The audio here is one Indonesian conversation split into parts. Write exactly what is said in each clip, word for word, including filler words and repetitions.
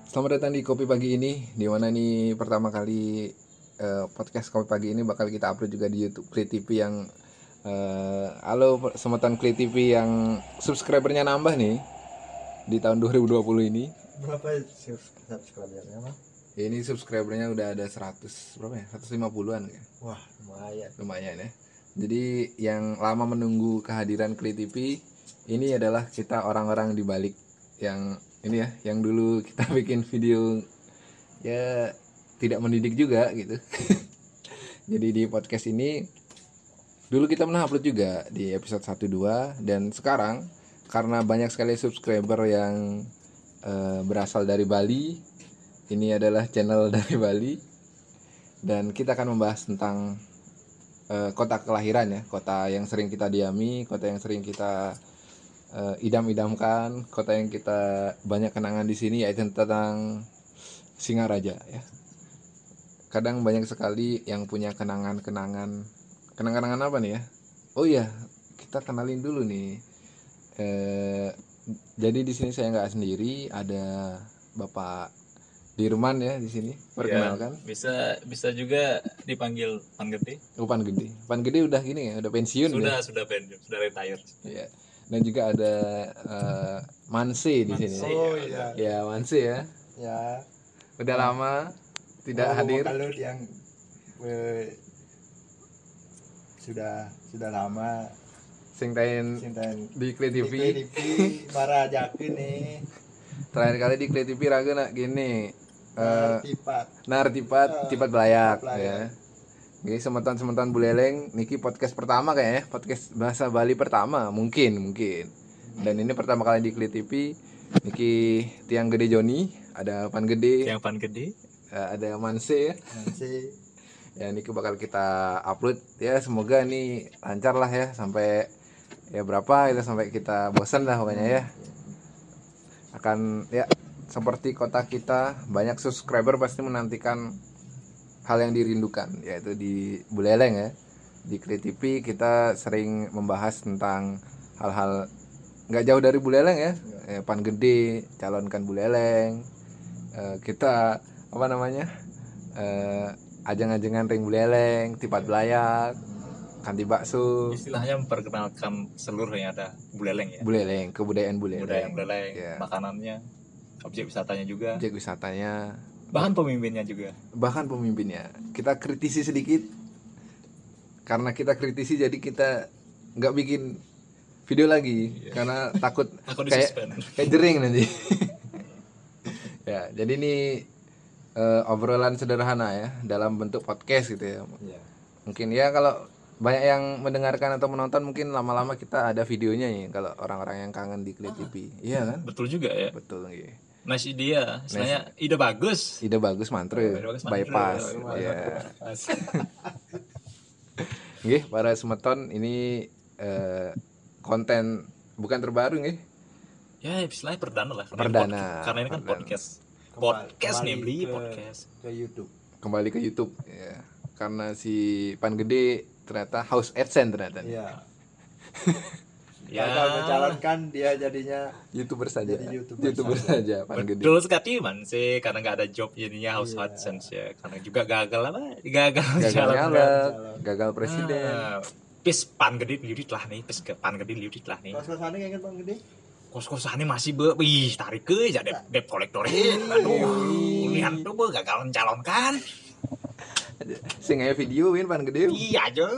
Selamat datang di Kopi Pagi ini, di mana nih pertama kali uh, podcast Kopi Pagi ini bakal kita upload juga di YouTube Kli T V yang uh, halo semeton Kli T V yang subscribernya nambah nih di tahun dua ribu dua puluh ini. Berapa subscribernya, Mas? Ini subscribernya udah ada seratus berapa ya? seratus lima puluhan ya. Wah, lumayan. Lumayan ya. Jadi yang lama menunggu kehadiran Kli T V ini adalah kita orang-orang di balik yang ini ya, yang dulu kita bikin video ya tidak mendidik juga gitu. Jadi di podcast ini dulu kita pernah upload juga di episode satu dua, dan sekarang karena banyak sekali subscriber yang uh, berasal dari Bali, ini adalah channel dari Bali, dan kita akan membahas tentang uh, kota kelahiran ya, kota yang sering kita diami, kota yang sering kita Uh, idam-idamkan, kota yang kita banyak kenangan di sini, yaitu tentang Singaraja ya. Kadang banyak sekali yang punya kenangan-kenangan, kenangan-kenangan apa nih ya? Oh iya, kita kenalin dulu nih. Uh, jadi di sini saya nggak sendiri, ada Bapak Dirman ya di sini. Perkenalkan. Ya, bisa bisa juga dipanggil Pan Gede. Oh, Pan Gede. Pan Gede udah gini ya, udah pensiun. Sudah ya? sudah pensiun, sudah retire. Iya. Dan juga ada uh, Manse di sini. Oh iya. Ya, Manse ya. Ya. Udah nah, lama tidak oh, hadir. Kalau yang eh, sudah sudah lama sing tain di Kli T V. Di Kli T V para jakeun nih. Terakhir kali di Kli T V rageuna gini. Uh, tipat. Nar tipat, uh, tipat belayak ya. Oke, semeton-semeton buleleng niki podcast pertama kayaknya, podcast bahasa Bali pertama, mungkin, mungkin. Dan ini pertama kali di Kli T V. Niki Tiang Gede Joni, ada Pan Gede. Tiang Pan Gede. Ada Manse ya. Manse. Ya, niki bakal kita upload ya, semoga ini lancar lah ya, sampai ya berapa itu, sampai kita bosan lah pokoknya ya. Akan ya seperti kota kita, banyak subscriber pasti menantikan hal yang dirindukan, yaitu di Buleleng ya. Di Kli T V kita sering membahas tentang hal-hal nggak jauh dari Buleleng ya. ya. Pan Gede calonkan Buleleng, e, kita apa namanya e, ajang-ajangan ring Buleleng, tipat belayak, kanti bakso. Istilahnya memperkenalkan seluruh yang ada Buleleng ya. Buleleng, kebudayaan Buleleng. Budaya Buleleng, ya. Makanannya, objek wisatanya juga. Objek wisatanya. Bahkan pemimpinnya juga. Bahkan pemimpinnya. Kita kritisi sedikit. Karena kita kritisi jadi kita nggak bikin video lagi. Iya. Karena takut, takut kayak kayak jering nanti. Ya, jadi ini uh, obrolan sederhana ya dalam bentuk podcast gitu ya. Iya. Mungkin ya kalau banyak yang mendengarkan atau menonton, mungkin lama-lama kita ada videonya ya kalau orang-orang yang kangen di Kli T V. Iya kan? Betul juga ya. Betul gitu. Masih dia, istilahnya ide bagus. Ide bagus mantre, oh, bypass. Ya. Nggih, para semeton ini eh, konten bukan terbaru nggih. Ya, istilahnya perdana lah. Karena perdana. Ini karena ini kan perdana. podcast. Podcast nih, beli podcast ke YouTube. Kembali ke YouTube ya. Karena si Pan Gede ternyata house AdSense ternyata. Iya. Ya, kalau mencalonkan dia jadinya YouTuber saja. Jadi YouTuber, YouTuber saja, Pan Gede. Betul sekali man sih, karena nggak ada job jadinya house yeah. AdSense ya, karena juga gagal apa? Gagal gagal nyalek, gagal presiden. Nah, pis Pan Gede liurit lah nih, pis ke Pan Gede liurit lah nih. Kos-kosannya kayak Pan Gede? Kos-kosannya masih be, wih tarik ke aja dep dep kolektorin. Aduh, lihat tuh be gagal mencalonkan. Sing aya video win Pan Gede. Iya aja.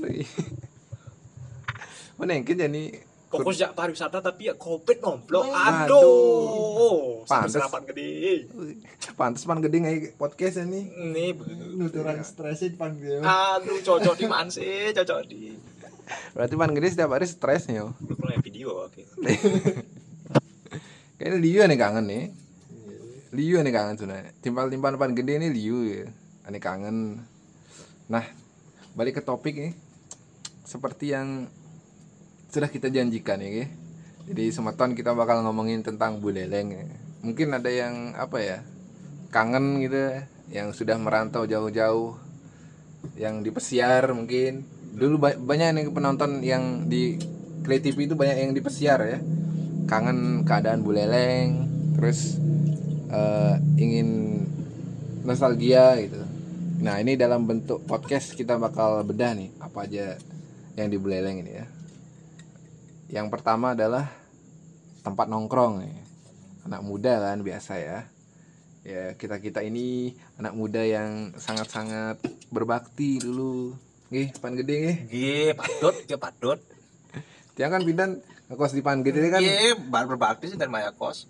Menengkin jadi fokus ya pariwisata tapi ya covid nomplok. Aduh. Pantes Pan Gede. Pantes Pan Gede ngai podcast ini. Nih nuturan stresin Pan Gede. Aduh, cocok di mana sih? Cocok di. Berarti Pan Gede setiap hari stres nih yo. Mulai video oke. Kayaknya Liu nih kangen nih. Liu nih kangen sebenarnya. Timpal-timpal Pan Gede ini Liu ya. Ini kangen. Nah, balik ke topik nih. Seperti yang sudah kita janjikan ya. Jadi semeton kita bakal ngomongin tentang Buleleng ya. Mungkin ada yang apa ya, kangen gitu, yang sudah merantau jauh-jauh, yang di pesiar mungkin. Dulu banyak nih penonton yang di Kli T V itu banyak yang di pesiar ya. Kangen keadaan Buleleng, terus eh, ingin nostalgia gitu. Nah ini dalam bentuk podcast kita bakal bedah nih apa aja yang di Buleleng ini ya. Yang pertama adalah tempat nongkrong nih. Anak muda kan biasa ya. Ya kita kita ini anak muda yang sangat-sangat berbakti dulu. Nggih, Pan Gede nggih. Nggih, patut, nggih patut. Tiang kan pindah ngekos di Pan Gede kan. Nggih, bar berbakti sih dari Maya Kos.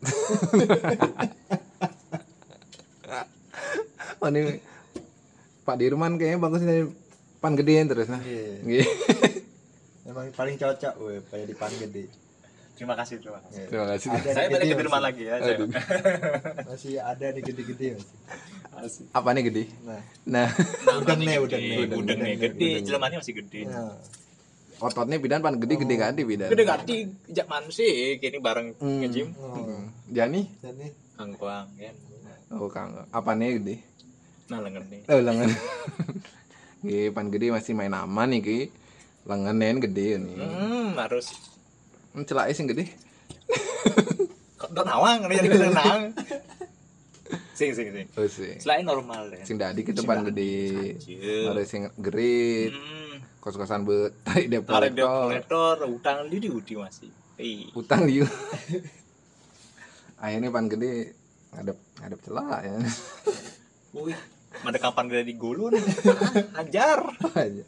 Oh ini Pak Dirman kayaknya bagus dari Pan Gedean terus nah. Iya. Nggih. Emang paling cocok weh kayak di Pan Gede. Terima kasih, terima kasih. Terima kasih. Ada Saya di balik gede ke rumah masih. lagi ya. Saya. Aduh. Masih ada nih gede-gede masih. Asik. Apa nih gede? Nah, Nah, Udang nih, udang nih, udang udang nih, nih, gede, udang. jelemannya masih gede. nah. ototnya bidan Pan Gede gede gede bidan. Gede gati, jak mana sih? Kini bareng Hmm. nge-gym. Oh. Hmm. Jani? Dan nih Angkuang, kan. Oh Kang. Apa nih gede? Nah, lengan nih. Oh lengan. Nggih, Pan Gede masih main aman nih ki. Lenganen gede nih. Hmm, harus Hmm, celake sing gede. kok don awang nih jadi kenang. Sing sing sing. Oh sih. Selain normal deh. Sing dadi ke Pan Gede. Anjir. Ada sing gerit. Hmm. Kos-kosan be tarik dep Tarik dia kolektor. kolektor, utang di di udi masih. Ih. Utang liu. Akhirnya Pan Gede ngadep ngadep celah ya. Wih, ada kapan gede di gulun? Ah, Hajar. Aja.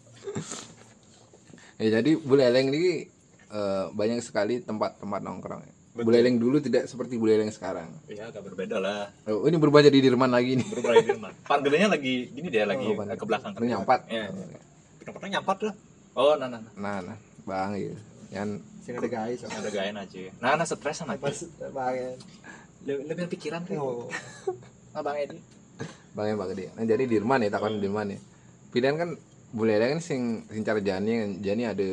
Ya jadi Buleleng ini eh, banyak sekali tempat-tempat nongkrong. Betul. Buleleng dulu tidak seperti Buleleng sekarang. Iya, agak berbeda lah. Oh, ini berubah jadi Dirman lagi nih. Berubah di rumah. Pan gedenya lagi gini dia lagi Oh, Pan ke belakang. Gede. Nyampat. Ya. Kita nyampat lah. Oh, nah nah nah. Nah, nah, Bang ya. Yang sing ada guys. Ada gayain aja. Nah, nah stresan aja. Pas banget. Lebih, lebih pikiran tuh. Oh. Nah, Bang Edi. Bang yang Bang Gede. Nah, jadi Dirman ya takon Dirman ya. Pidan kan Buleleng kan sing sing cara Jani Jani ada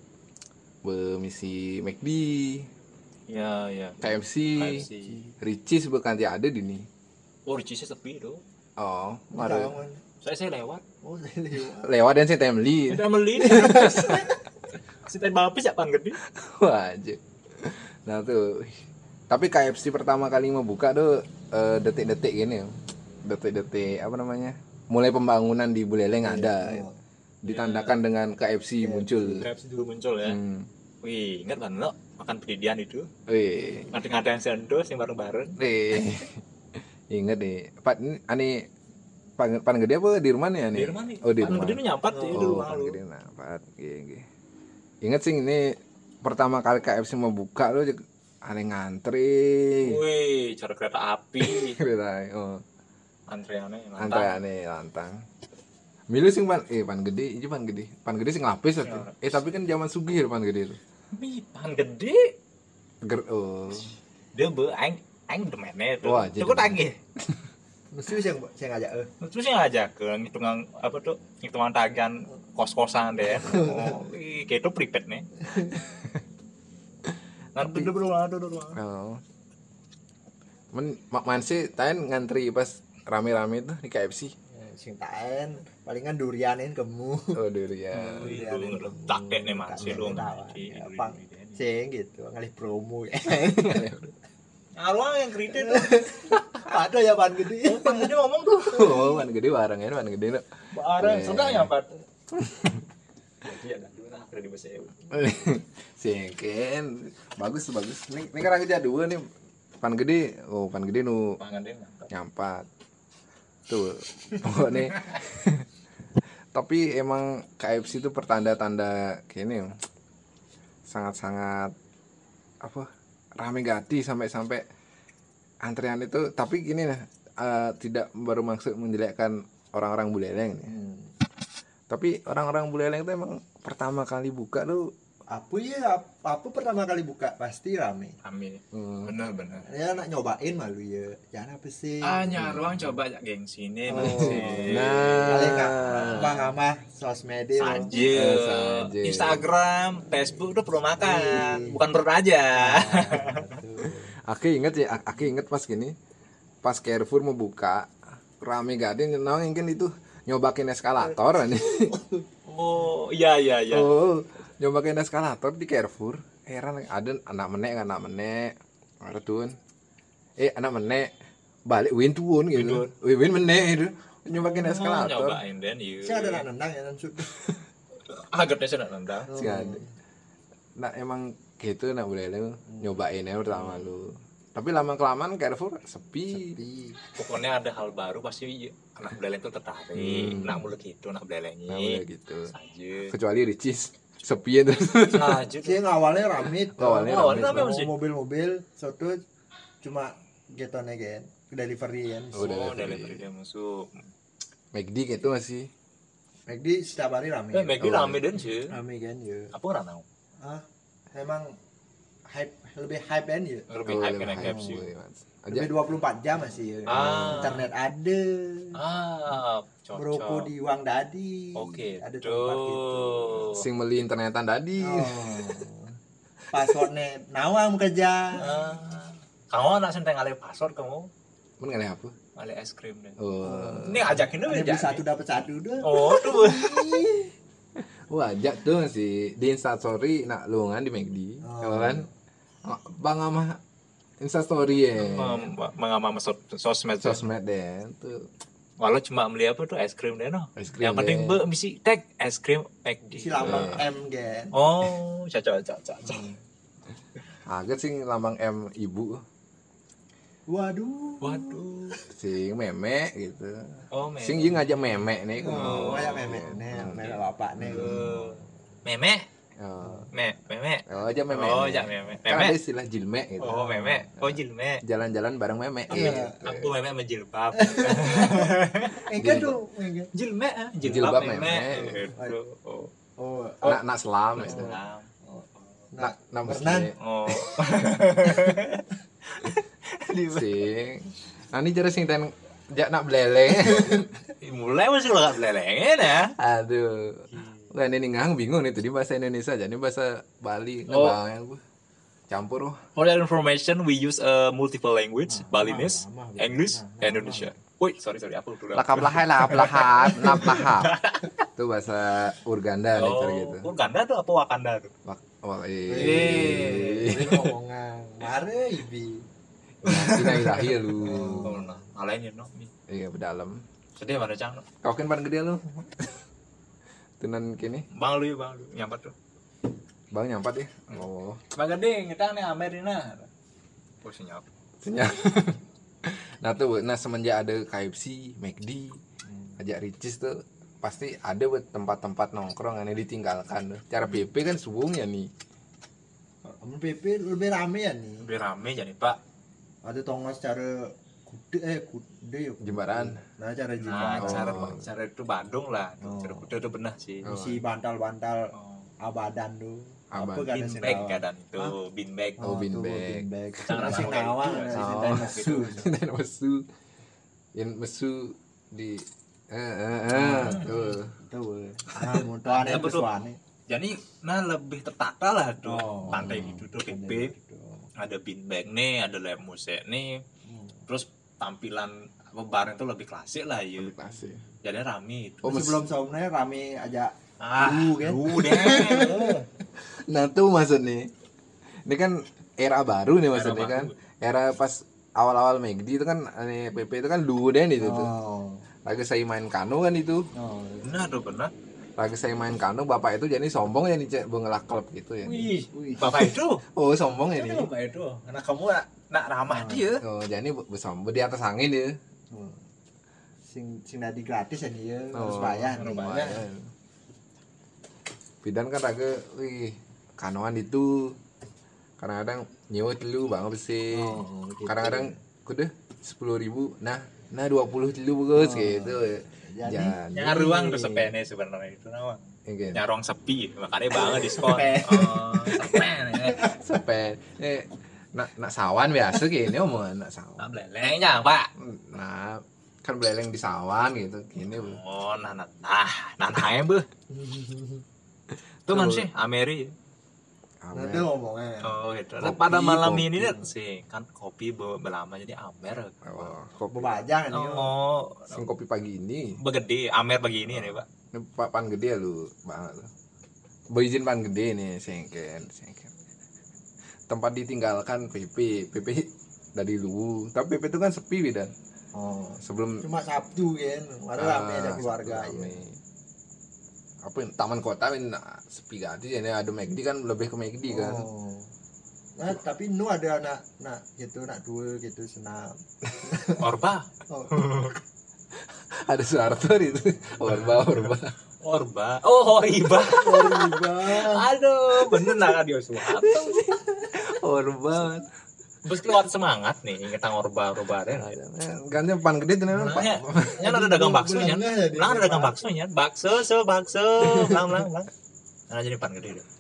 misi McD, Ya, ya. K F C, K F C. Ricis bukan dia ada di nih. Oh, Ricisnya sepi tuh. Oh, Tahu, ada man. Saya saya lewat. Oh, saya lewat. lewat dan saya temli. Udah beli. Si teh bapis ya Pan Gede. Wah, aja. Nah tuh. Tapi K F C pertama kali mau buka tuh eh, detik-detik gini. Detik-detik apa namanya? Mulai pembangunan di Buleleng ada. Oh. Ditandakan dengan K F C muncul. K F C dulu muncul ya. Hmm. Wih, ingat kan lo makan pendidikan itu? Wih. Ngada-ngada yang sendos yang bareng-bareng. Wih. Ingat deh. Pak ini ane Pan, pan Gede apa di rumah nih ane? Di rumah nih. Oh, di Pan rumah. Gede itu nyampat sih Oh, dulu Pan lalu. Gede nah, Pak. Nggih, nggih. Ingat sih ini pertama kali K F C mau buka lo aneh ngantri. Wih, cara kereta api. Kereta, oh. Antreannya yang Antreane lantang. Milu sing pan eh Pan Gede, iki Pan Gede. Pan Gede sing lapis Ya. ya. Eh tapi kan zaman sugih Pan Gede itu. Wih, Pan Gede. Ger oh. Dia be aing aing demennya itu. Wah, jadi Cukup tagih. Mesti saya saya ngajak eh. Terus yang ngajak ke hitungan apa tuh? Hitungan tagihan kos-kosan deh. Oh, ih, kayak itu prepaid nih. Ngantuk dulu, aduh, aduh, aduh. Oh. Men mak man sih taen ngantri pas rame-rame tuh di K F C. Ya, sing taen palingan durianin kemu. Oh durian. Wih, Durianin lu kemu. tak deh nih masih lu. Tawa. Di- Ya, di- Pang. di- di- Sing gitu ngalih promo ya. Arwah yang kredit tuh. Ada ya Pan Gede. Pan Gede ngomong tuh. Oh, Pan Gede bareng ya, Pan Gede. Bareng, Eh. sudah nyampat. Jadi ada dua nah, kredit bahasa Ewa. Singken. Bagus bagus. Ini ini kan aja dua nih. Pan Gede. Oh, Pan Gede nu Pangan deh nyampat. nyampat. Tuh. Pokoknya tapi emang K F C itu pertanda-tanda kayaknya sangat-sangat apa rame gati sampai-sampai antrean itu tapi gini nah eh, tidak bermaksud menjelekkan orang-orang Buleleng nih. Hmm. Tapi orang-orang Buleleng itu emang pertama kali buka tuh Apa ya? Apa pertama kali buka pasti rame. Amin. hmm, Bener bener. Ya nak nyobain malu ya. Jangan apa sih? Ah nyaruang coba ya gengsi ini Oh. masih. Paling nggak nah bang ama sosmed itu. Saja. Eh, saja. Instagram, Facebook udah perlu makan, Iya. bukan perut aja. aku inget ya aku inget pas gini pas Carrefour mau buka rame gade nyenang mungkin itu nyobakin eskalator nih. Oh iya iya iya. Oh, nyobain eskalator di Carrefour. Heran ada anak menek anak menek. Ada tuh. Eh anak menek balik win turun gitu. Win win meneh itu. Nyobain eskalator. Nyobain dan iya. Saya ada nak nendang ya nan sudah. Agaknya sudah nendang. Sih ada. Nah emang gitu nak boleh lu nyobain aja pertama lu. Tapi lama kelamaan Carrefour sepi. Sepi. Pokoknya ada hal baru pasti anak beleng tuh tertarik. Hmm. Nak mulai gitu, nak belengnya. Nah boleh gitu. Saja. Kecuali Ricis sepi terus. Saja. Sih awalnya rame. Awalnya Awalnya rame. rame. Masih? Mobil-mobil soto cuma getone kan. Delivery kan. Oh, Oh, delivery. delivery dia masuk. McD gitu masih. McD setiap hari rame. Eh, Maggie rame dan sih. Rame kan ya. Apa nggak tahu? Ah, emang hype lebih hype kan ya. Lebih Oh, hype lebih kan hype, K F C. boleh, Mas. Aja Lebih dua puluh empat jam masih ya. Ah. Internet ada. Ah, Merokok cocok. di uang dadi. Oke, Ada tempat gitu. sing meli internetan tadi. Oh. Passwordnya nawang kerja. Ah, kamu anak senteng alih password kamu, Men ngalih apa? alih es krim deh. Oh. Ini ajakin dulu Ada beli satu dapat satu dah. Oh, tuh. Wah, ajak tuh sih di Instastory nak luangan di McD. Oh. Kalau kan Bang ama Instastory ya. Mengamam sosmed. Sosmed deh tuh. Walau cuma beli apa tuh es krim deh no. Es krim Yang penting deh. be misi tag es krim McD. Si lambang M kan. Oh, cocok cocok cocok. Agak sing lambang M ibu. Waduh. Waduh. Sing meme gitu. Oh, meme. Sing jeung ngajak meme nih. Oh, kayak memek nih, memek bapak nih. Oh. Meme, Oh. me, meme. Oh, aja meme. Oh, nih. jak meme. Kan ada Meme. istilah jilme gitu. Oh, meme. Oh, jilme. Jalan-jalan bareng meme. Iya. Gitu. Aku meme menjilbab. Enggak tuh, enggak. Jilme, ah. Jilbab jilbab meme. meme. Gitu. Oh. Oh, Nak nak selam gitu. Salam. Nak nak berenang. mesti Oh. sing. Nah, ini cara sing ten jak nak beleleng. Mulai masih lo gak belelengin ya. Aduh. Wah, ini ngang bingung nih tadi bahasa Indonesia jadi bahasa Bali Oh. ngebayang gua. Campur oh. For that information, we use a multiple language, Balinese, lama, lama, English, lama, and Indonesia. Wait, sorry sorry, apa dulu? Lakap lahai lahap lahap nap lahap. Itu bahasa Urganda nih cara gitu. Oh, Uganda tuh apa Wakanda tuh? Wak, wak, Eh, eh. ini ngomongan. Mare ibi. Ina ilahi lu. Oh, nah, alainnya no. Iya, berdalam. Sedih mana cang? Kau kan paling gede lu. Tenan kini, Bang lu ya, bang lu nyampat tuh. Bang nyampat ya. Oh, Bang gede, kita nih Amerina. Oh, senyap. senyap. Nah tuh, nah semenjak ada K F C, McD, ajak Ricis tuh pasti ada buat tempat-tempat nongkrong yang ditinggalkan tuh. Cara P P kan subuhnya nih. Kamu P P lebih rame ya nih. Lebih rame jadi Pak. Ada tongos cara kude eh kude ya. Jembaran. Nah, cara Nah, jembaran. cara Oh. cara itu Bandung lah. Oh. Cara kuda itu benar sih. Oh. Si bantal-bantal Oh. abadan tuh. Aban. Apa kan Bin sih bag nawang? kadang itu, bin bag. Oh, bean tuh, bag. bean bag. Jangan Si langsung nawang, kayak gitu. si Oh. Sintai Mesu. Dan mesu. Yang mesu di eh eh eh tuh. Tuh. Ah, motor aneh Apa tuh? pesuane. Jadi nah lebih tertata lah tuh Oh. pantai gitu tuh P P. Ada bin bag nih, ada lem musik nih. Hmm. Terus tampilan apa bareng itu lebih klasik lah ya. Lebih klasik. Jadi rame itu. Oh, mes- Sebelum saumnya rame aja. Ah, Lu kan? lu deh. Nah tuh maksudnya. Ini kan era baru nih maksudnya Era kan. baru. Era pas awal-awal McD itu kan ini P P itu kan dulu deh itu tuh. Oh. Lagi saya main kano kan itu. Oh. Benar tuh benar. Lagi saya main kano bapak itu jadi sombong ya nih cek bengelak klub gitu ya. Wih, Wih. bapak itu. Oh sombong ya Ini nih. bapak itu. Karena kamu nak, nak ramah dia. Oh jadi bersombong di atas angin dia. Oh. Sing sing tadi gratis ya nih ya, Oh, harus bayar. harus nih. bayar. lumayan. Bidan kan raga, wih kanoan itu kadang-kadang nyewa dulu bang besi. Oh, gitu. Kadang-kadang kudu sepuluh ribu, nah nah dua puluh dulu bagus Oh. gitu. Jadi, Nyari ruang tuh sepene sebenarnya itu nawang. Oke. Nyari ruang sepi, makanya banget diskon. Sepen. Oh, sepen. ya. Sepen. Eh, nak nak sawan biasa gini omongan nak sawan. Nah, belelengnya, Pak. Nah, kan beleleng di sawan gitu. Gini, Bu. Oh, nah, nah, nah, nah, nah, ya, Bu. Itu man sih, Ameri. Nah, itu ngomongnya. Oh, gitu. Kopi, Pada malam kopi. ini kan sih, kan kopi be- belama jadi Amer. Oh, kopi Bebajang nih. Oh, sing kopi pagi ini. begede, Amer begini nih, Pak. Ini pak pan gede lu, banget lu. Berizin pan gede nih, sengken, sengken. Tempat ditinggalkan P P, P P dari dulu. Tapi P P itu kan sepi bidan. Oh, Sebelum cuma Sabtu kan, ada ah, rame ada keluarga Sabtu ya. rame. Apa yang taman kota ini nah, sepi ganti ini ada McD kan lebih ke McD kan. Oh. Nah, tapi nu ada anak nak gitu, nak dua gitu senam. Orba. Oh, Ada Soeharto itu. Orba orba. Orba. Oh, Oriba. riba. Aduh, bener nak dia Soeharto. Orba. Terus keluar semangat nih tentang Orba Orba deh. Ganti pan gede tuh namanya. Nah, ya ada dagang bakso nya. Belangnya jadi Nah, ada dagang Pak. bakso nya. Bakso, so bakso. Lang lang lang. Nah, jadi pan gede deh.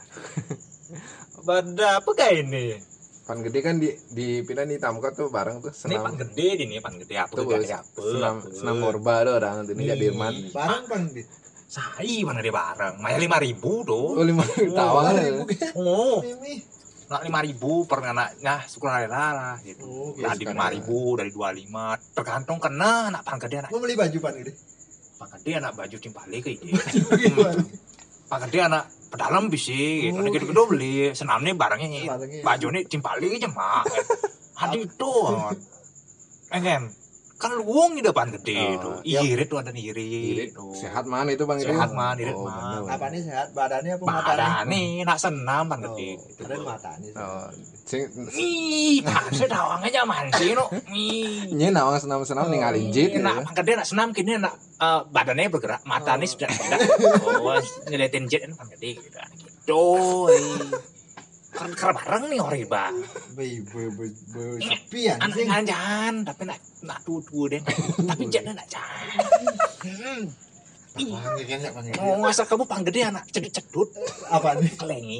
Pada apa kayak ini? Pan gede kan di di pindah di Tamka tuh bareng tuh Ini pan senam. gede ini pan gede apa Tuh gede bos, apa? senam apa. senam orba tuh orang ini Nih. Jadirman. Barang pan di. Sai mana dia bareng? Maya lima ribu tuh. Oh lima tawang Ribu ya. kan. Oh, Mimi. nak lima ribu per anaknya syukur hari lah gitu. Oh, iya, Dari sekarang. lima ribu, dari dua puluh lima, tergantung kena anak pan gede anak Mau beli baju pan gede. pan gede anak baju timpale kayak gitu. Gimana? Pan gede anak pedalam bisa gitu. Anak gitu beli senamnya barangnya nih. Barangnya. Baju nih timpale aja mah. Hadi itu. Engen. Kan luang di depan gede Oh, itu. iya. Irit tuh ada irit. Irit. tuh. Sehat mana itu Bang Gede? Sehat man, irit Oh, man. bener. Apanya sehat? Badannya apa matanya? Badan nih nak senam pan Oh, gede. ada matanya. Oh, sing Ih, pasnya dawangnya zaman sih no. Ih. nye nawang senam-senam ninggalin jit Ini gitu. nak gede nak senam kini nak eh, badannya bergerak, matanya Oh. sudah tidak. Oh, ngeliatin jet ini pan gede gitu. Gitu. ih. Kan kerja bareng nih Oriba. Be be be be sepi ya. Anak jangan jangan, tapi nak nak tutu deh. Tapi jetnya nak jangan. Panggil kan ya panggil. Oh, masa kamu pan gede anak cedut-cedut, Apa nih? kelengi.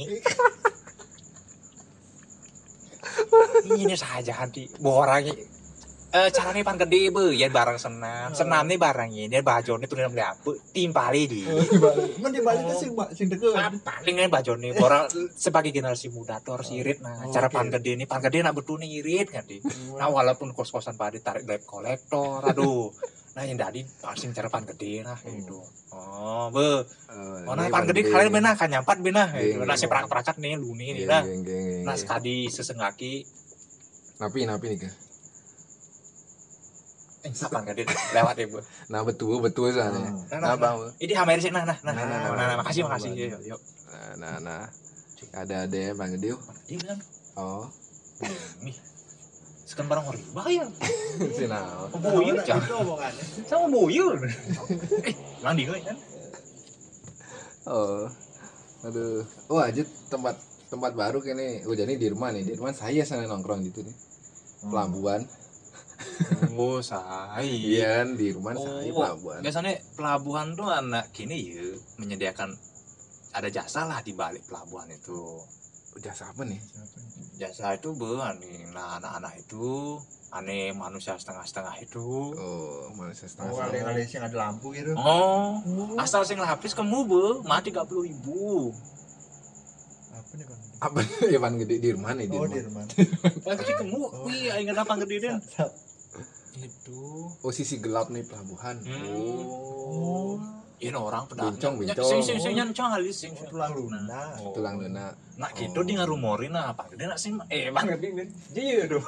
Ini saja hati borang eh caranya pan gede be ya barang senam senam nih barangnya dia baju nih tuh beli apa timpali di Mun di Bali tuh sing sing deket. paling nih baju nih orang sebagai generasi muda tuh harus irit nah Oh, cara oke. pan gede nih pan gede nak betul nih irit kan di nah walaupun kos-kosan pada tarik debt kolektor aduh nah yang tadi pasti cara pan gede nah gitu oh be oh nah pan gede kalian benar kan nyampat benar gitu nah si perak-perakat nih lu nih nih nah nah sekali sesengaki Napi napi nih kan. eh kapan gede lewat ya bu Nah betul betul soalnya. Nah, Nah nah, bang. ini hammer sih nah nah nah Nah, nah, nah, nah, nah, makasih nah, makasih nah, yuk yuk Nah nah nah. Ada ada Bang Gede. dia kan Oh. nih sekarang barang orang bayar Sinau. buyur Itu jangan omongannya. sama buyur eh mandi gue kan Oh. Aduh. Oh aja tempat tempat baru kayaknya. Oh jadi Dirman nih. Dirman saya sana nongkrong gitu nih. Pelabuhan. oh saya Iya kan Dirman saya Oh, pelabuhan. biasanya pelabuhan tuh anak gini ya menyediakan ada jasa lah di balik pelabuhan itu Jasa apa nih? jasa itu bu nih nah anak-anak itu aneh manusia setengah-setengah itu Oh manusia setengah. Oh, ada ada yang ada lampu gitu. oh asal sing lapis kamu bu mah tiga puluh ribu Apa nih bang? Apa ya Bang Gede Dirman nih Oh Dirman. Dirman. lagi kamu wih ingat apa gede deh Sap. itu Oh sisi gelap nih pelabuhan. Hmm. Oh. ini orang pedang Bincang, bincang. sing sing sing nyancang alis sing Oh, tulang lunak. Oh. Tulang lunak. Nah gitu dia ngarumorin apa gede nak sing eh bang gede kan iya tuh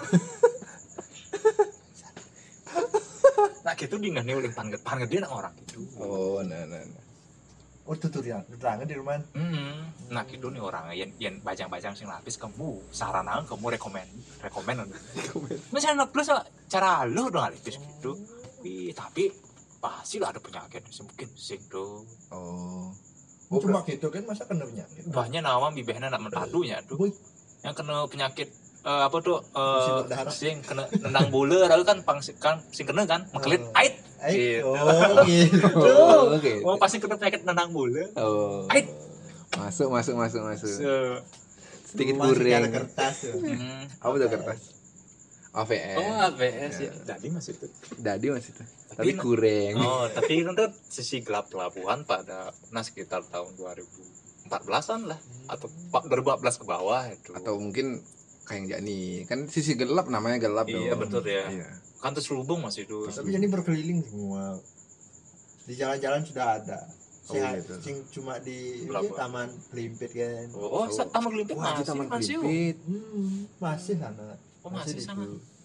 nah gitu dia nggak nih uling pan gede pan gede nak orang gitu Oh nah nah. nah. Oh tutorial. Keterangan Dirman. hmm. nah gitu nih orang yang yang bajang-bajang sing lapis kamu saran kamu rekomen rekomen misalnya plus cara lu dong lapis gitu Wih, tapi pasti lah ada penyakit sih mungkin sing tuh Oh. Oh, cuma gitu kan masa kena penyakit. banyak nama bibehna nak mentadunya tuh Boy. yang kena penyakit eh, apa tuh Musim eh berdarah. sing kena nendang bola lalu kan pang kan sing kena kan mekelit Oh. ait Eh, Gitu. oh gitu. Oh, oke. oh pasti kena penyakit nendang bola Oh. ait Masuk masuk masuk masuk. Se- Sedikit Masih goreng. ada kertas tuh. hmm. Apa tuh kertas? A V S. oh A B S ya tadi masih itu Dadi masih tuh. Tapi Tapi na- kurang. oh tapi untuk sisi gelap pelabuhan pada nah sekitar tahun dua ribu empat belasan lah atau dua ribu empat belas ke bawah itu Atau mungkin kayak yang Jani kan sisi gelap namanya gelap iya dong. betul ya Iya. kan terselubung masih itu Tapi jadi berkeliling semua. Di jalan-jalan sudah ada. Sing, Oh, gitu. sing cuma di Berapa? di Taman Pelimpit kan. oh, oh taman kelimpit Wah, di masih Taman masih Kelipit. Hmm, masih sana. Oh masih sama.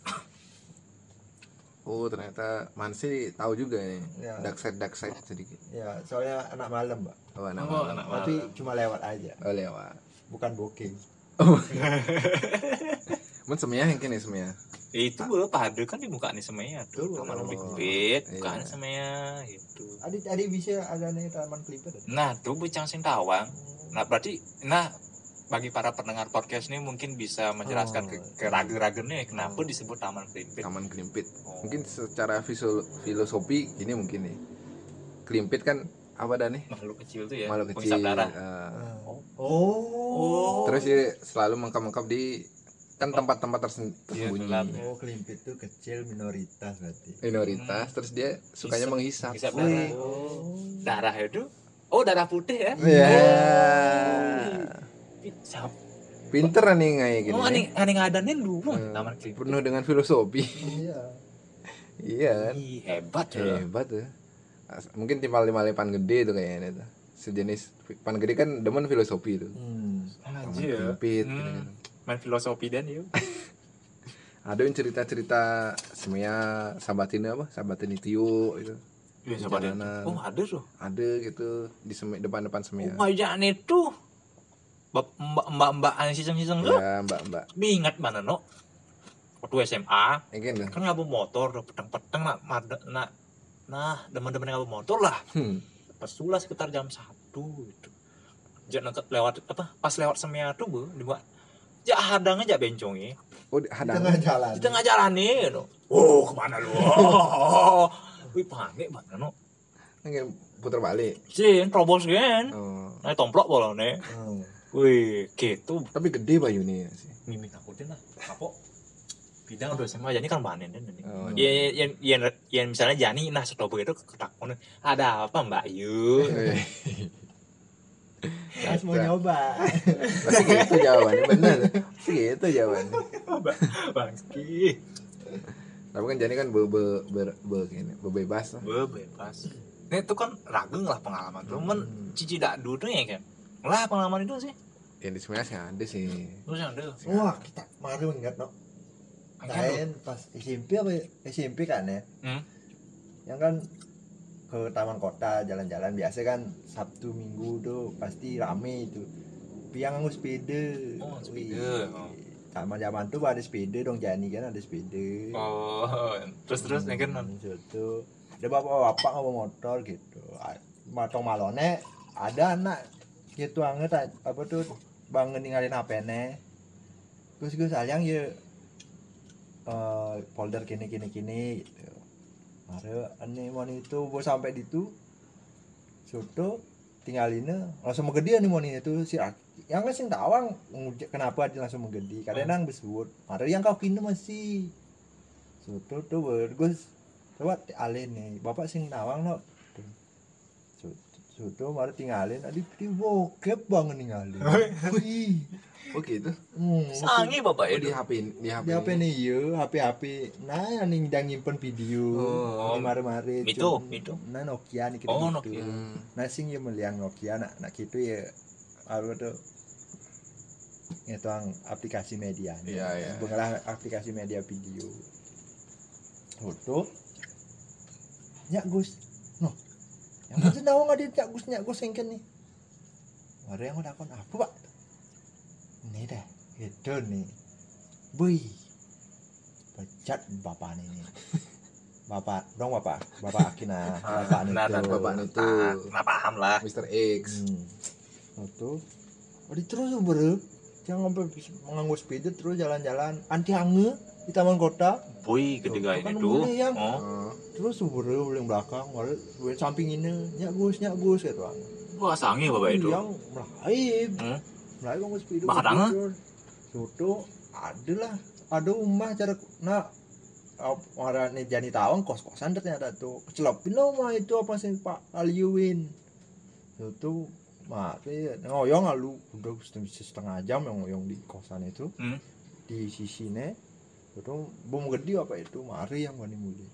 Oh ternyata Mansi tahu juga nih Ya. dark side dark side sedikit. Ya, soalnya anak malam, Mbak. Oh anak Oh, malam. anak Tapi malam. cuma lewat aja, Oh lewat. bukan booking. Mun semia yang kini semia. Itu gue pade kan di muka nih semaya tuh. Tuh, Taman oh, Klimpit, iya. mukaan semaya gitu. Adik adik bisa ada nih taman Klimpit. Nah, tuh Bujang Sintawang. Nah, berarti nah bagi para pendengar podcast ini mungkin bisa menjelaskan ke, ke ragu-ragunya kenapa disebut Taman Klimpit. Taman Klimpit. Oh. Mungkin secara visual filosofi ini mungkin nih. Klimpit kan apa dah nih? Makhluk kecil tuh ya, Makhluk penghisap kecil. darah. eh, Oh. Oh. Terus dia selalu mengkap-mengkap di kan tempat-tempat tersen- Iya, tersembunyi. gelap. Oh, Klimpit tuh kecil minoritas berarti. Minoritas terus dia sukanya menghisap. Menghisap Wih. darah. Darah itu. Oh, darah putih ya. Iya. Hisap. Pinter nih kayak gini. Oh, aneh aneh ngadanin dulu Eh, Taman Klimpit. penuh dengan filosofi. Iya. Iya kan? Ih, hebat ya. Hebat tuh. As- Mungkin timpal lima pan gede tuh kayaknya tuh. Sejenis pan gede kan demen filosofi tuh. Hmm. Taman Anjir ya. Klimpit Hmm. gitu-gitu. Main filosofi dan yuk. Ada yang cerita-cerita semuanya sahabatin apa? Sahabatin Tio itu. Iya, siapa dia? Jalanan. Oh, ada tuh. Ada gitu di semi, depan-depan Oh, semia. ngajak itu. Bap- Mbak-mbak ane siseng-siseng tuh. Ya, Mbak-mbak. Bingat mana no? Waktu S M A Mungkin tuh. kan ngabu motor, udah peteng-peteng nak, made- nak, nah demen-demen ngabu motor lah. Hmm. Pas sulah sekitar jam satu gitu. Jak neket lewat apa? Pas lewat semia tuh bu, dibuat. Jak hadang aja bencongnya Oh, di- Di hadang. tengah jalan. di tengah jalan nih, no. Oh kemana lu? Oh, wih panik mana no? Mungkin putar balik. Sin, terobos kan? Oh. Nah tomplok bola nih. Hmm. Wih, gitu. Tapi gede bayu nih sih. Mimik aku deh lah. Apa? Bidang udah sama jadi kan banen dan ini. Oh, Ya, yang, yang, yang misalnya Jani, nah setelah begitu ketakon, ada apa Mbak Yu? Eh, Mas mau nyoba. Pasti gitu jawabannya bener. Pasti gitu jawabannya. Bangki. Tapi kan jadi kan be be be, be gini, bebas lah. Be, bebas. Ini itu kan rageng lah pengalaman tuh. Men cici dak dulu ya kan. Lah pengalaman itu sih. Yang di semuanya sih ada sih. Terus yang ada. Wah, kita kemarin ingat no. Lain pas S M P apa ya? S M P kan ya? Hmm. Yang kan ke taman kota jalan-jalan biasa kan Sabtu Minggu tuh pasti rame itu. Piang nganggo sepeda. Oh, sepeda. Wih. Oh. Zaman-zaman tuh ada sepeda dong Jani kan ada sepeda. Oh, terus terus yang kan. Hmm, gitu. Ada bapak-bapak ngomong motor gitu. A- Matong malone ada anak gitu anget apa tuh bangun ninggalin H P-ne. Terus gue sayang ya eh, folder kini kini kini gitu. Mare ane mon itu gue sampai di itu soto tinggalinnya langsung menggede nih mon itu si Aki. Yang kan sing tawang ngujak kenapa dia langsung menggede kadang nang besut. Mare yang kau kini masih soto tuh bagus. Coba alin nih bapak sing tawang no. Soto mari tinggalin adi di bokep banget ninggalin. Wih. Oh gitu. Hmm, Sangi bapak Oh, di itu. H P di H P. di H P nih ya, H P H P. Nah, ning ndang nyimpen video. Oh, mari-mari. itu, cum- itu. Nah, Nokia nih Oh, gitu. Nokia. Hmm. Nah, sing ya meliang Nokia nak nak gitu ya. Apa tuh? Ngetang aplikasi media. Iya, iya. Pengelah aplikasi media video. Foto. Nyak Gus. Noh. Yang mana nawang ada Nyak Gus Nyak Gus yang nih. Ada yang udah kon apa, Pak? Ini dah, itu nih. Bui. Pecat bapak ini. Bapak, dong bapak, bapak Akina, bapak Nah, nah, itu. bapak itu. Nah, paham lah. Mister X. Hmm. Itu, oh, di terus bro, jangan sampai menganggur sepeda terus jalan-jalan anti hange di taman kota. Boy ketiga Kan ini tuh. boleh, yang. Oh, Oh. Terus bro, paling belakang, malah gue samping ini, nyak gus, nyak gus gitu. wah sangi bapak itu. Yang melaib, Hmm. melaib nganggur sepeda. Bakal hange? Soto, ada lah, ada rumah cara, nah, orang nih Jani Tawang kos-kosan ternyata tuh kecelopin lah mah itu apa sih Pak Aliuin itu mati ngoyong lalu udah setengah jam yang ngoyong di kosan itu Hmm. di sisinya itu bom gede apa itu mari yang wani mulai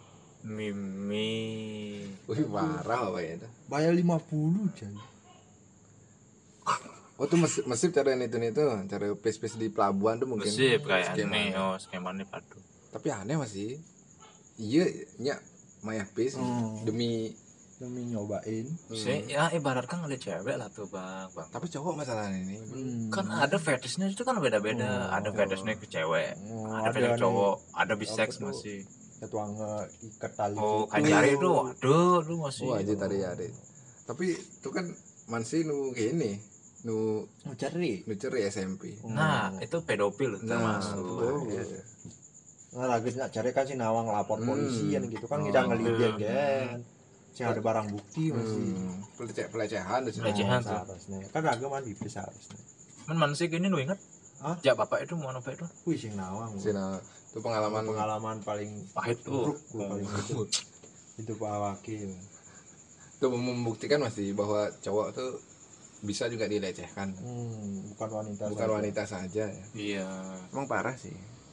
Mimi. Wih, parah apa ya itu? bayar lima puluh jadi Oh tuh mesip, mesip cara itu nih tuh, cara pes-pes di pelabuhan tuh mungkin. Mesip kayak skemanya. aneh, oh skemanya padu. Tapi aneh masih. Iya, nya maya pes Hmm. demi demi nyobain. Sih, ya ibaratkan ngeliat cewek lah tuh bang, bang. tapi cowok masalahnya ini. Hmm. Kan ada fetishnya itu kan beda-beda. Oh. Ada fetishnya ke cewek, Oh, ada ada fetish nih. cowok, ada Apa bisex tuh? masih. Ketua ikat tali. Oh, gitu. kan jari itu, aduh, lu masih. Oh aja tadi ada. Tapi itu kan mansi nu gini, nu Mau cari. nu ceri S M P. Nah, itu pedofil Nah, termasuk. oh, iya. Nah, lagi nak cari kan si Nawang lapor Hmm. polisi kan gitu kan Oh. kita ngelihat Hmm. kan. Si ada barang bukti masih. Hmm, pelece pelecehan tuh. Pelecehan. Oh, seharusnya. Kan agaman di seharusnya. Men masih gini lu ingat? Hah? Ya bapak itu mau apa itu? Wih si Nawang. Sina itu pengalaman pengalaman paling Pahit tuh. buruk gua paling itu. Itu Pak Wakil. itu membuktikan masih bahwa cowok tuh bisa juga dilecehkan. Hmm, bukan wanita. Bukan saja. wanita saja ya. Iya. Emang parah sih.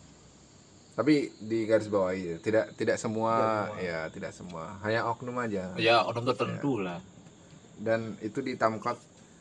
Tapi di garis bawahi tidak tidak semua, Tidak semua. ya tidak semua, hanya oknum aja. Ya orang tertentu lah. Dan itu di Tamkot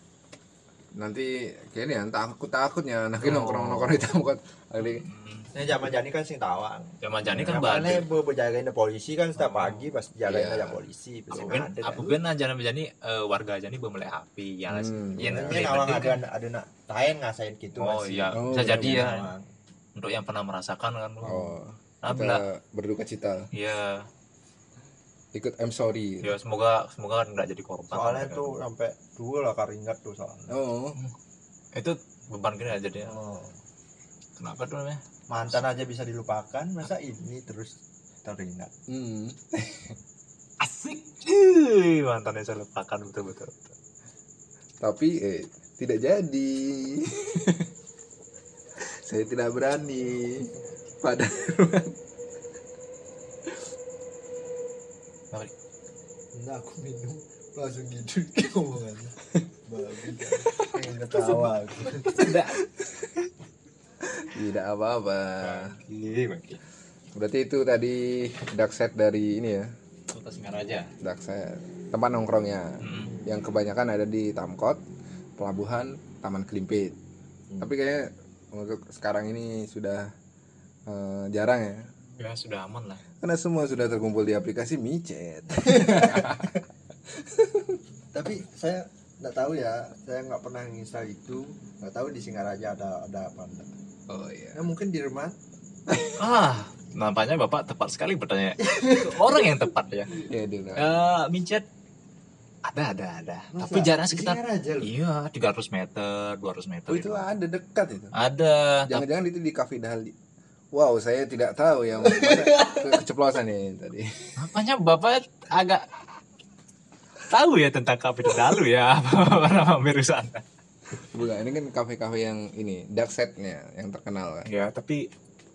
nanti kayaknya takut takutnya nanti Oh. nongkrong nongkrong di Tamkot kali. Ini zaman jani kan sing tawang. Zaman jani kan Makanya badai. bu berjagain polisi kan setiap Oh. pagi pasti jagain Iya. aja polisi. Pasti Aku ben, ada aku kan. ben aja nih jadi eh, warga aja nih belum mulai api ya. Hmm. Yang Ini paling Nawang penting ada kan- ada nak tahen ngasain gitu Oh masih. iya, Oh, bisa iya, jadi iya. ya. Nawang. Untuk yang pernah merasakan kan. Oh, Nah, kita bila, berduka cita, ya, ikut I'm sorry. ya semoga semoga nggak jadi korban. Soalnya Kan. tuh sampai dua lah karingat tuh soalnya. Oh, Itu beban gini aja dia. Oh. Kenapa tuh namanya? Mantan aja bisa dilupakan, masa ini terus teringat. hmm. Asik. Ih, mantannya saya lupakan betul-betul. Tapi eh tidak jadi. Saya tidak berani. Pada Enggak aku minum langsung gitu ngomongannya. Bagus. Pengen ketawa aku. Tidak. tidak apa-apa. Bagi, bagi. Berarti itu tadi dark set dari ini ya, Kota Singaraja. dark set tempat nongkrongnya. Hmm. Yang kebanyakan ada di Tamkot, Pelabuhan, Taman Kelimpit. Hmm. Tapi kayaknya untuk sekarang ini sudah eh, jarang ya. Ya sudah aman lah. Karena semua sudah terkumpul di aplikasi micet. Tapi saya nggak tahu ya, saya nggak pernah nginstal itu, nggak tahu di Singaraja ada ada apa enggak. Oh iya. Ya mungkin di rumah. Ah, nampaknya Bapak tepat sekali bertanya. Orang yang tepat ya. Ya, di Eh, mincet ada ada ada. Masa? Tapi jaraknya Di sekitar Singaraja loh. iya tiga ratus meter, dua ratus meter. Oh, itu ada dekat itu. Ada. Tapi Jangan-jangan itu di Cafe Dahli. Wow, saya tidak tahu yang mana ke- keceplosan nih tadi. nampaknya Bapak agak tahu ya tentang kafe Dalu ya. Apa nama miru sana. Bukan, ini kan kafe-kafe yang ini dark setnya yang terkenal kan. Ya, tapi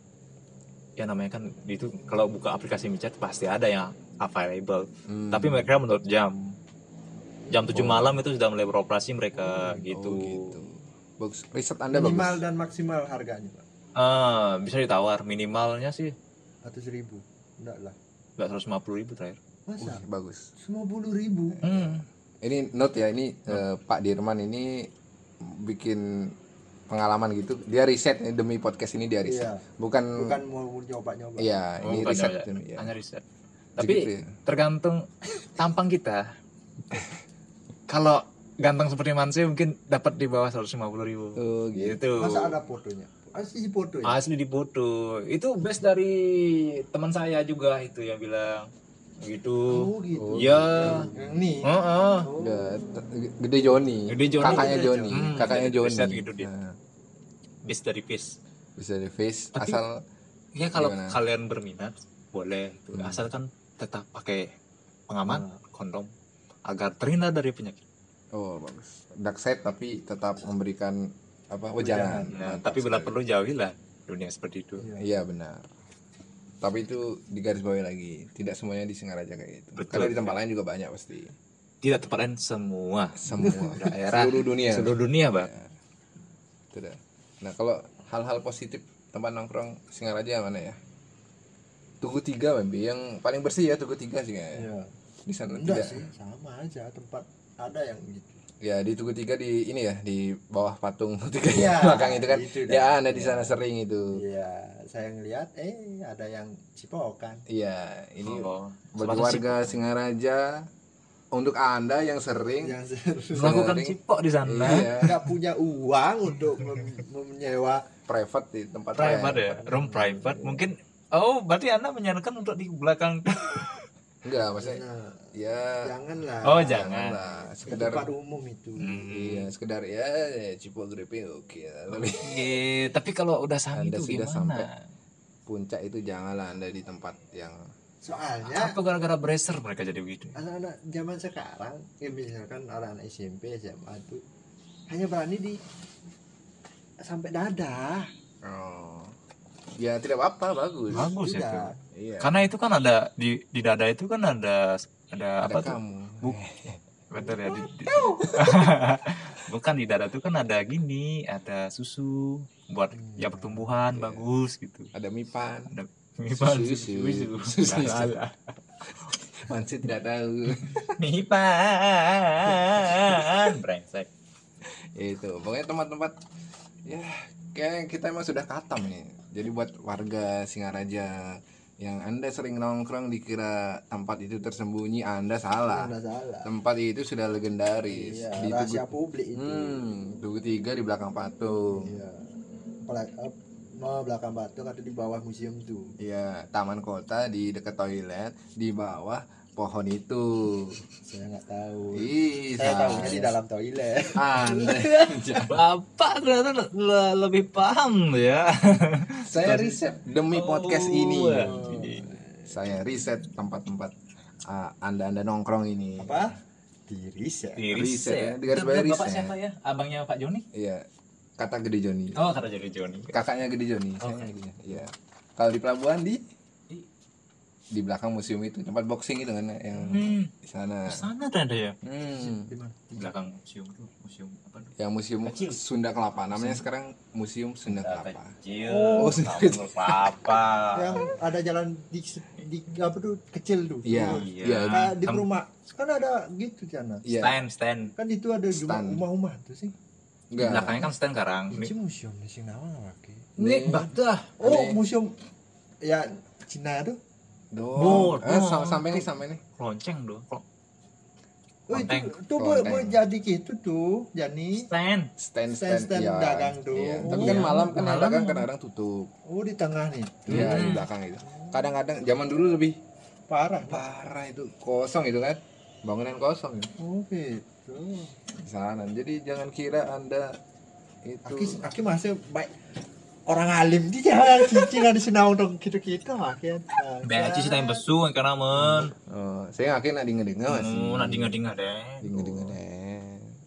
ya namanya kan itu kalau buka aplikasi micet pasti ada yang available. Hmm. Tapi mereka menurut jam. Jam tujuh Oh. malam itu sudah mulai beroperasi mereka gitu. Oh, gitu. Bagus. Riset Anda Minimal bagus. dan maksimal harganya, Pak. Ah, bisa ditawar minimalnya sih Ratus ribu. Enggak lah. nggak seratus lima puluh ribu terakhir. Masa? Wih, bagus. Semua puluh ribu. Hmm. Ini note ya, ini eh, Pak Dirman ini bikin pengalaman gitu. Dia riset nih demi podcast ini dia riset. Iya. Bukan, Bukan mau nyoba-nyoba. iya, Oh, ini bukan riset. ya, Ya. hanya riset. Segitu Tapi ya. tergantung tampang kita. Kalau ganteng seperti Mansi mungkin dapat di bawah seratus lima puluh ribu. Oh, gitu. Gitu. Masa ada fotonya? Asli foto ya? Asli di foto. Itu best dari teman saya juga itu yang bilang gitu. Oh gitu. Iya. Yang Nih. Heeh. Oh. Udah, t- gede Joni. Gede Joni. Kakaknya Gede Joni. Hmm, Kakaknya dari Joni. riset gitu dia. Nah, Best dari Fish. bisa di face Tapi- asal Ya kalau Gimana? kalian berminat boleh tuh. Hmm. Asalkan tetap pakai pengaman, Hmm. kondom agar terhindar dari penyakit. oh bagus. Dark side tapi tetap memberikan apa wejangan. Nah, Mantap tapi bila sekali. perlu jauhilah dunia seperti itu. Iya. Iya benar. Tapi itu di garis bawahi lagi, tidak semuanya di Singaraja kayak gitu. Betul. Karena di tempat lain juga banyak pasti. Tidak tepat lain semua Semua daerah seluruh dunia. seluruh dunia, Bang. Ya. Itu dah. Nah, kalau hal-hal positif tempat nongkrong Singaraja mana ya? Tugu Tiga, Bambi. Yang paling bersih ya Tugu Tiga sih kayaknya. Iya. Di sana Enggak tidak. sih, sama aja tempat ada yang gitu. Ya di Tugu Tiga di ini ya di bawah patung tiga Iya, belakang itu kan. itu dah. Ya anda di Iya. sana sering itu. Iya, saya ngeliat eh ada yang cipokan. Iya ini Oh, bagi sebatas warga Singaraja untuk anda yang sering Yang cipok. Melakukan sering- cipok di sana. iya, nggak punya uang untuk mem- menyewa private di tempat Private ya, room private. Mungkin oh berarti Anda menyarankan untuk di belakang. Enggak maksudnya Nah, ya janganlah. Oh, jangan. lah Ke sekedar tempat umum itu. Hmm. iya sekedar ya, ya Cipo Griping oke lah. Tapi Iya, tapi kalau udah sang Anda itu sudah gimana? sampai. puncak itu janganlah anda di tempat yang Soalnya Apa gara-gara bracer mereka jadi begitu? anak-anak zaman sekarang, ya misalkan anak-anak S M P, S M A tuh hanya berani di sampai dada. oh ya tidak apa-apa bagus. Bagus ya Tidak. tuh. Iya. Karena itu kan ada di di dada itu kan ada ada, ada apa tuh? kamu. Buk- Betul ya. Di, di- Bukan di dada tuh kan ada gini, ada susu buat ya pertumbuhan Iya. bagus gitu. Ada mipan. Ada mipan Susu, susu. susu. Nggak salah. Mansi tidak tahu. Mipan. Brengsek. Itu pokoknya tempat-tempat ya kayak kita emang sudah katam nih. Jadi buat warga Singaraja yang anda sering nongkrong dikira tempat itu tersembunyi, anda salah. Nggak salah. Tempat itu sudah legendaris. Iya, Di rahasia Tugu, publik itu. hmm, Tugu Tiga di belakang patung. Iya. Apalagi eh, no, belakang patung atau di bawah museum tuh. Iya, taman kota di dekat toilet, di bawah pohon itu. Saya nggak tahu. Ih, Saya saya- tahunya di dalam toilet. Anda. Bapak ternyata le- lebih paham ya. Saya riset demi podcast Oh, ini. anjing. Saya riset tempat-tempat ah, anda-anda nongkrong ini. Apa? Di riset. Di Riset ya, riset. di garis bawah Bapak riset. siapa ya? Abangnya Pak Joni? Iya, kata Gede Joni. Oh, kata jadi Joni. Kakaknya Gede Joni. Oh. Saya Gede. Iya. Kalau di pelabuhan di Di- di belakang museum itu tempat boxing itu kan yang Hmm, di sana. di sana ada ya. Hmm. Di mana? Di belakang museum tuh, museum apa tuh? Yang museum Kecil. Sunda Kelapa. Namanya sekarang Museum Sunda Kelapa. Kecil. Oh, Kampung Kelapa. Yang ada jalan di, di apa tuh kecil tuh. Iya, Iya. iya. Kayak di Kamu- rumah kan ada gitu sana. Iya. Stand, stand. Kan itu ada juga Stand. rumah-rumah tuh sih. Di Enggak. belakangnya kan stand sekarang. Ini museum di sini apa lagi? Ini batah. Oh, Ini- museum ya Cina tuh. Doh. Oh, Eh, oh. sam- sampai nih, sampai nih. Lonceng doh. Klo- Oh, itu Lonteng. tuh boleh Lonteng. boleh jadi gitu tuh, Jani. Stand. Stand Stand- stand iya. dagang tuh. Iya. Oh, Tapi kan iya. malam kan yang Malam. dagang kadang-kadang tutup. Oh, di tengah nih. Iya, di Hmm. belakang itu. Kadang-kadang zaman dulu lebih Parah. parah itu, kosong itu kan. Bangunan kosong itu. Oh, gitu. Di sana. Jadi jangan kira Anda itu Aki aki masih baik orang alim dia jangan cicing ada sinau dong gitu-gitu makin. Beci sih tayang besu karena men. oh, saya yakin nak dengar-dengar masih. Oh, nak dinga-dinga deh. Dengar-dengar deh.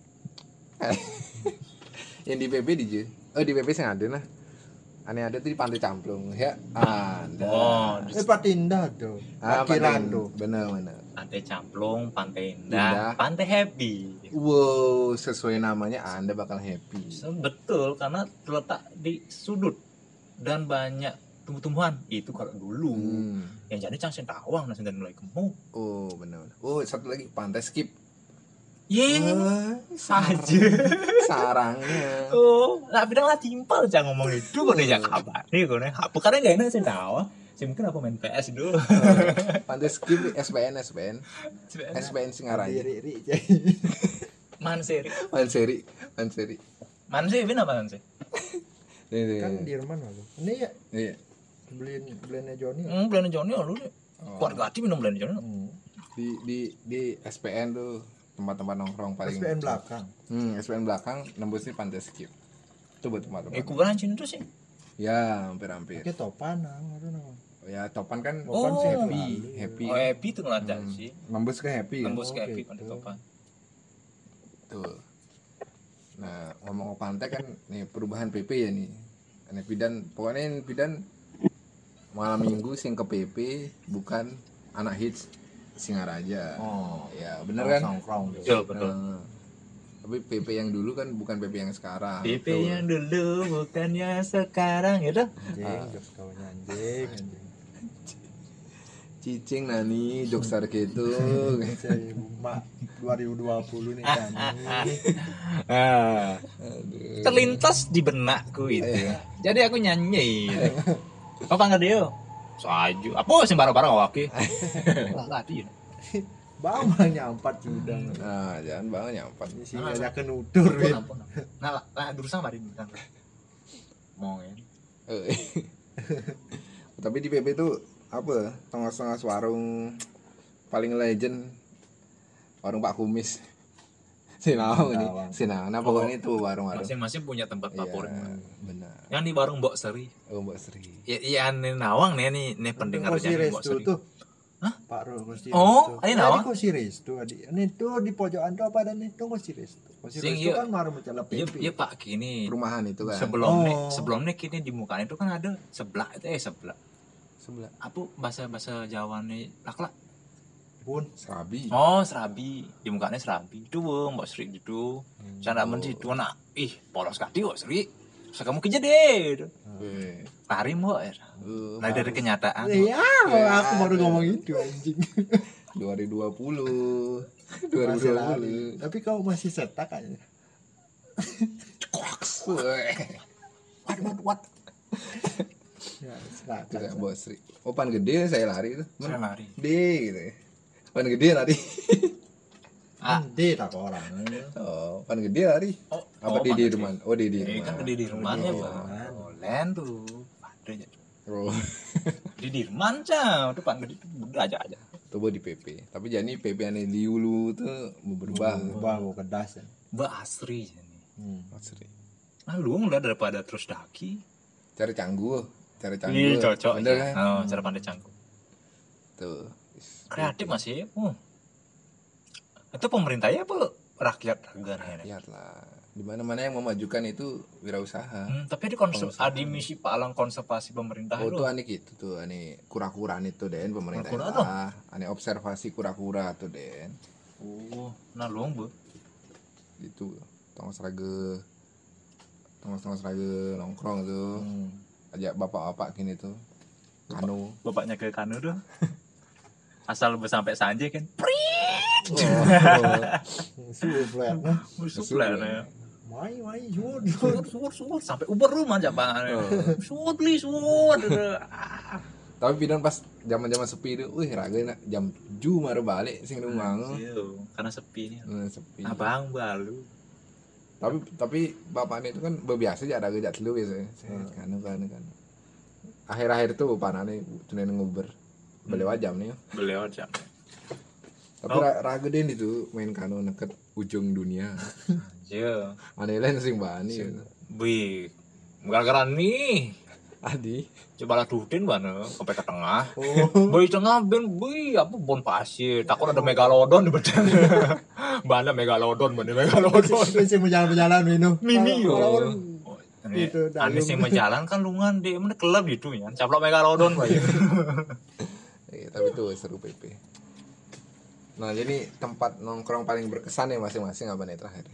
Yang di P P di Ju- Oh, di P P sing ada nah. Aneh ada tuh di Pantai Camplung ya. Ada. Oh, Eh Patinda tuh. Ah, Parkiran Pantai- tuh. Bener bener. Pantai Camplung, Pantai Indah. Indah, Pantai Happy. Wow, sesuai namanya Anda bakal happy. So, betul karena terletak di sudut dan banyak tumbuh-tumbuhan. Itu kalau dulu. Hmm. Yang jadi cang tawang nasi dan mulai gemuk. Oh, benar. Oh, satu lagi Pantai Skip. Ye, Wah, saja. sarangnya. Oh, lah bidang lah timpal cang ngomong itu kok dia kabar. Nih kok nih, apa karena gak enak sih tawang. Sih mungkin apa main P S dulu. Pantai Skip S B N S B N S B N Singaraja. Diri-diri. Manseri. Manseri, Manseri. Manseri ini apa Manseri? Nih, nih, Kan nih. di mana lu? Ini ya Iya. beliin beliinnya Joni. Hmm, belanja Joni lu deh. Oh. Keluarga hati minum belanja Joni. Hmm. Di di di S P N tuh tempat-tempat nongkrong paling. S P N belakang. Hmm, S P N belakang nembusnya Pantai Skip. Itu buat Eh, tempat-tempat. kuburan Cina tuh sih. Ya, hampir-hampir. Oke topan nang, aduh nang. Ya, Topan kan Oh. sih happy, happy. Oh, happy tuh ngelacak Hmm. sih. Nembus ke happy kan. Tembus ke Oh, happy gitu. Pantai Topan. Tuh. Nah, ngomong pantai kan nih perubahan P P ya nih. Ini Pidan, pokoknya ini Pidan malam minggu sing ke P P bukan anak hits Singaraja. Oh. Ya, bener kan? Nongkrong. Betul, betul. Nah, tapi P P yang dulu kan bukan P P yang sekarang. P P Tuh. yang dulu bukannya sekarang ya dah. Anjing, jos kawannya anjing, anjing. Cicing nani jokesar gitu. Saya mak dua ribu dua puluh nih kan. Ah, terlintas di benakku itu. Jadi aku nyanyi. Apa nggak dia? Saju. Apa sih barang-barang awake? Lah tadi. Bang nyampat sudah. Nah, jangan banget nyampat. Ini sih ngajak nutur wit. Ampun. Nah, lah, lah durusan mari kan. Mau ya. Eh. Tapi di P P tuh apa? Tengah-tengah warung paling legend warung Pak Kumis. Sinau ini. Sinau. Nah, pokoknya itu warung-warung. Masing-masing punya tempat favorit. Iya, benar. Yang di warung Mbok Seri. Oh, Mbak Sri. Ya, iya nih Nawang nih nih, nih pendengar Kursi jadi Mbok restu Sri. tuh. Hah? Pak Ro kursi Oh, restu. ini Nah, naon? Ini kursi restu adi. Ini tuh di pojokan tuh apa dan itu kursi restu. Kursi Sing restu iya- kan maru mencela Iya, P P. iya Pak gini. Perumahan itu kan. Sebelumnya, Oh. sebelumnya kini di mukanya itu kan ada sebelah itu eh sebelah. Sebelah. Apa bahasa bahasa Jawa nih? Laklak. Pun Serabi. Oh, serabi. Di mukanya serabi. Itu Mbok Sri itu. Canda men situ nak. Ih, polos kati Mbok Sri. Terus kamu kerja deh. Weh. Lari Mbok. Eh, Nah, dari kenyataan. iya, aku baru ngomong itu anjing. dua ribu dua puluh. dua ribu Masih dua lari. puluh. Tapi kau masih setak kayaknya. Weh. What what what? Ya, setak. Itu kayak Mbak Sri. Oh, pan gede saya lari itu. Saya lari. Gede gitu. ya. Pan gede lari. Ah. Di tak orang. Oh, pan gede lari. Oh, Apa oh, di di pantas. rumah? Oh, di di Ini rumah. kan di Dirman ya, Di Pak. Dirman. Oh, Len tuh. Padanya. Oh, Di Dirman cah, itu Pak Gede itu udah aja aja. coba di P P. Tapi jadi P P ane liulu tuh mau berubah. Ubah mau kedas ya. Mbak Asri jadi. Hmm. Mbak Sri. Nah, lu udah daripada terus daki. Cari cangguh, cari cangguh. Ini cocok Bener ya. kan? Oh, cara pandai canggung. Tuh. Kreatif masih. Uh. Itu pemerintah ya apa rakyat negara ini? Lihat lah. Di mana-mana yang memajukan itu wirausaha. Hmm, tapi di konsep Pengusaha. adi misi palang konservasi pemerintah Oh, itu. tuh aneh gitu tuh, aneh kura-kuraan itu Den pemerintah. Kura-kura tuh? Aneh observasi kura-kura tuh Den. Oh, nah lu Bu. Itu tongos rage tongos-tongos rage nongkrong tuh. Hmm. Ajak bapak-bapak gini tuh. Kanu. Bapaknya ke Kanu tuh. Asal sampai Sanjay kan. Oh, Suplet nah. Musuh Musuh lah lah. ya. Mai mai jur. Suur, suur, suur sampai Uber rumah aja Bang. Oh. Suur li, suur. Ah. Tapi pidan pas zaman-zaman sepi itu, wih raga nak jam tujuh mare balik sing rumah. Iya, karena sepi nih. Hmm, sepi. Abang balu. Tapi tapi bapaknya itu kan bebiasa aja raga jat lu biasanya. Hmm. Kanu kanu kanu. Akhir-akhir itu panane tunen nguber. Beliau jam nih. Beliau jam. Tapi Oh. ra- raga den itu main kanu neket ujung dunia. Iya. Aneh lain sing bani. Wih, gara-gara nih. Adi. Coba lah dutin mana sampai ke tengah. Oh. Boy tengah ben boy apa bon pasir. Takut ada megalodon di bedan. Mana megalodon, mana megalodon. Masih berjalan-jalan minum. Mini yo. Orang- Ini Itu, dalem. Anis yang menjalan kan lungan dia mana kelab gitu ya. Caplok megalodon bae. Eh, tapi itu seru P P. Nah, jadi tempat nongkrong paling berkesan ya masing-masing apa nih terakhir?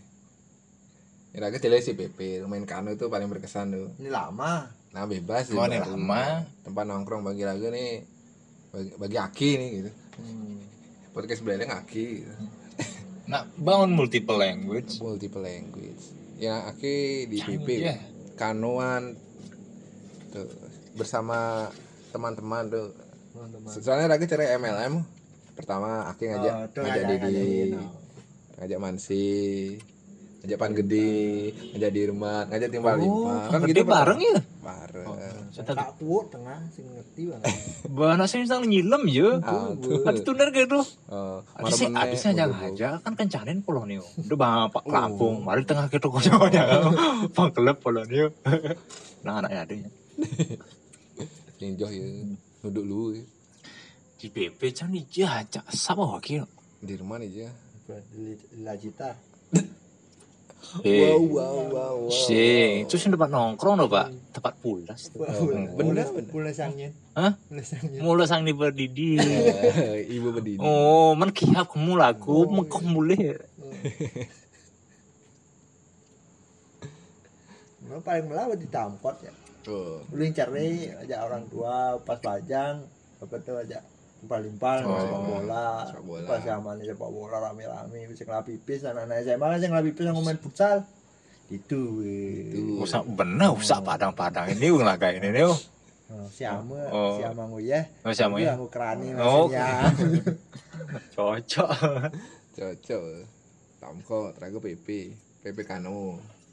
Ya raga jelas sih P P, main kanu itu paling berkesan tuh. Ini lama. Nah, bebas Oh, ini baru. lama. Tempat nongkrong bagi raga nih bagi, bagi Aki nih gitu. Hmm. Podcast sebenarnya Aki gitu. Nah, bangun multiple language. Multiple language. Ya Aki di P P Iya. kanuan tuh bersama teman-teman tuh. Teman-teman. Soalnya raga cari M L M. Pertama Aki ngajak Oh, tuh ngajak ngajak- Didi, ngajakin, oh. ngajak Mansi, ngajak Pan Gede, ngajak Dirman, ngajak Timbal Oh, Lima. Kan gede bareng ya. Bareng. Tak kuat tengah sing ngerti banget. Bana sing sang nyilem ya. Ah, tuh. Ada tuner gitu. Oh, Adisnya maremene, adisnya jangan bobo. aja kan kencanin polonio. Udah bapak Lampung, mari tengah gitu konyolnya. Pangkelep polonio. Nah anaknya ada ya. Ninjoh ya, duduk lu ya. Di B P can dijajak sama wakil. Dirman aja. Lajita. Eh, Wow, wow, wow, wow. sing, itu sing tempat nongkrong loh pak, tempat pulas. tuh. bener, Bener, pula sangin. Hah? Pula sangin. Mula sang di berdidi. Eh, Ibu berdiri. Oh, man kiap kamu lagu, mengkok mulai. Nah, paling melawat ditampot ya. Oh. Ulin cari aja orang tua pas pajang apa tuh aja Limpal-limpal Oh. sepak bola. Sepak bola. Pas zamannya sepak bola rame-rame bisa ngelapis pipis anak-anak S M A kan yang ngelapis pipis yang main futsal. Itu. Itu. Usah bener usah padang-padang ini ung laga ini nih. Oh, siama, Oh. siama nguyeh. Oh, siama ya? Aku kerani Oh. maksudnya. Cocok. Cocok. Tamko teraga P P, P P Kano.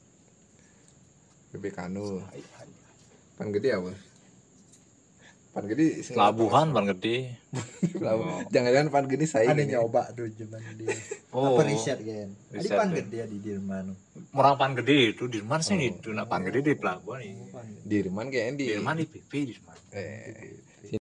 P P Kano. Pan gede apa? Pan gede sing- Labuhan Pan Gede. Pelabuhan. Jangan-jangan pan gede saya Ada ini. nyoba tuh zaman dia. Oh. Apa riset kan? Ada Riset, pan ya. gede di Dirman. Orang Pan Gede itu di mana sih itu? Nah Pan Gede di pelabuhan ini. Pan gede. Dirman kayaknya di Di mana di P P di mana? eh